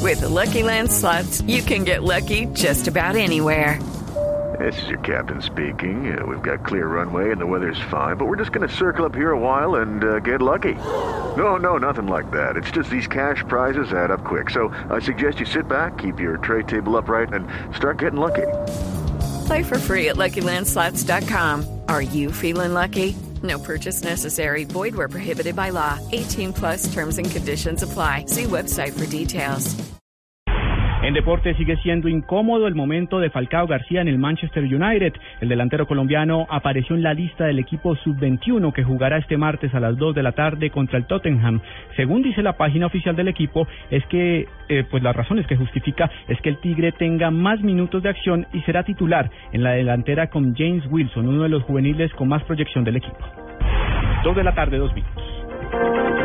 With the Lucky Land Slots, you can get lucky just about anywhere. This is your captain speaking. We've got clear runway and the weather's fine, but we're just going to circle up here a while and get lucky. No, nothing like that. It's just these cash prizes add up quick. So I suggest you sit back, keep your tray table upright, and start getting lucky. Play for free at LuckyLandSlots.com. Are you feeling lucky? No purchase necessary. Void where prohibited by law. 18 plus terms and conditions apply. See website for details. En deporte sigue siendo incómodo el momento de Falcao García en el Manchester United. El delantero colombiano apareció en la lista del equipo sub-21 que jugará este martes a las 2 de la tarde contra el Tottenham. Según dice la página oficial del equipo, es que pues las razones que justifica es que el Tigre tenga más minutos de acción y será titular en la delantera con James Wilson, uno de los juveniles con más proyección del equipo. 2 de la tarde, 2 minutos.